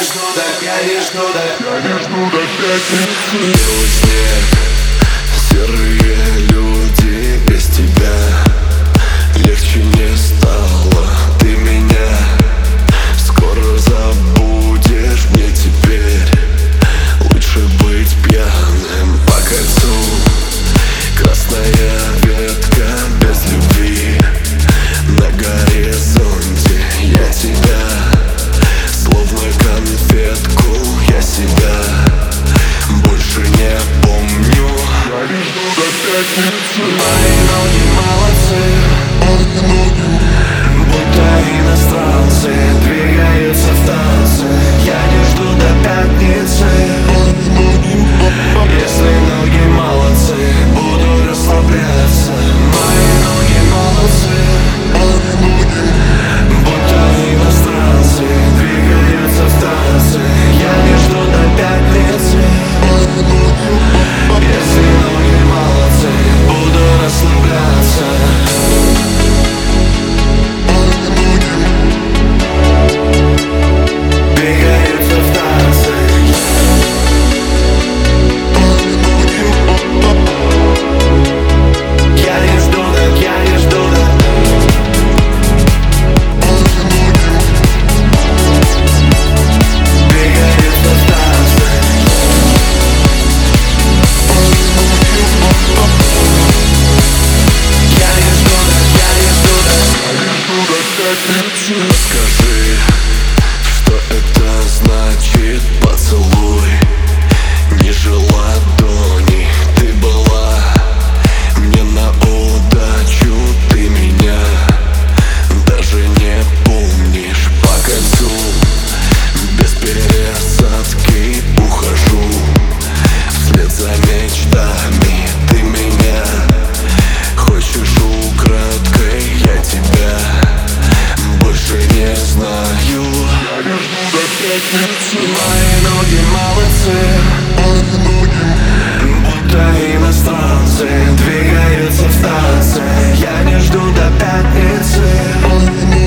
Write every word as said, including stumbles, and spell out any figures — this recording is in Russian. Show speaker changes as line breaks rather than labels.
жду, да, я не жду, да, я не жду до пятницы.
Белый снег, серые люди, без тебя легче не стало. Ты меня скоро забудешь, мне теперь лучше быть пьяным по кольцу. Красная ветка без любви на горизонте. Я тебя, словно конфетку, я себя больше не помню.
Я не жду до пятницы.
Мои ноги молодцы,
Мои ноги,
будто иностранцы, двигаются в танце. Я не жду до пятницы.
мои ноги,
Если ноги молодцы, буду расслабляться. Мои ноги молодцы,
мои ноги,
будто иностранцы, двигаются в танце. Я не жду до пятницы.
мои ноги,
Если ноги молодцы, буду расслабляться. Двигаются в танце. Я не жду, да, я не жду, да. Двигаются в танце. Я не жду, да, я не жду, да.
я не жду до пятницы.
Скажи, что это значит поцелуй ниже ладони. Ты была мне на удачу, ты меня даже не помнишь. По кольцу без пересадки ухожу вслед за мечтами. Ты меня хочешь украдкой, я тебя больше не знаю.
Я не жду до пятницы.
Мои ноги молодцы,
Мои ноги,
будто иностранцы, двигаются в танце. Я не жду до пятницы.
мои ноги.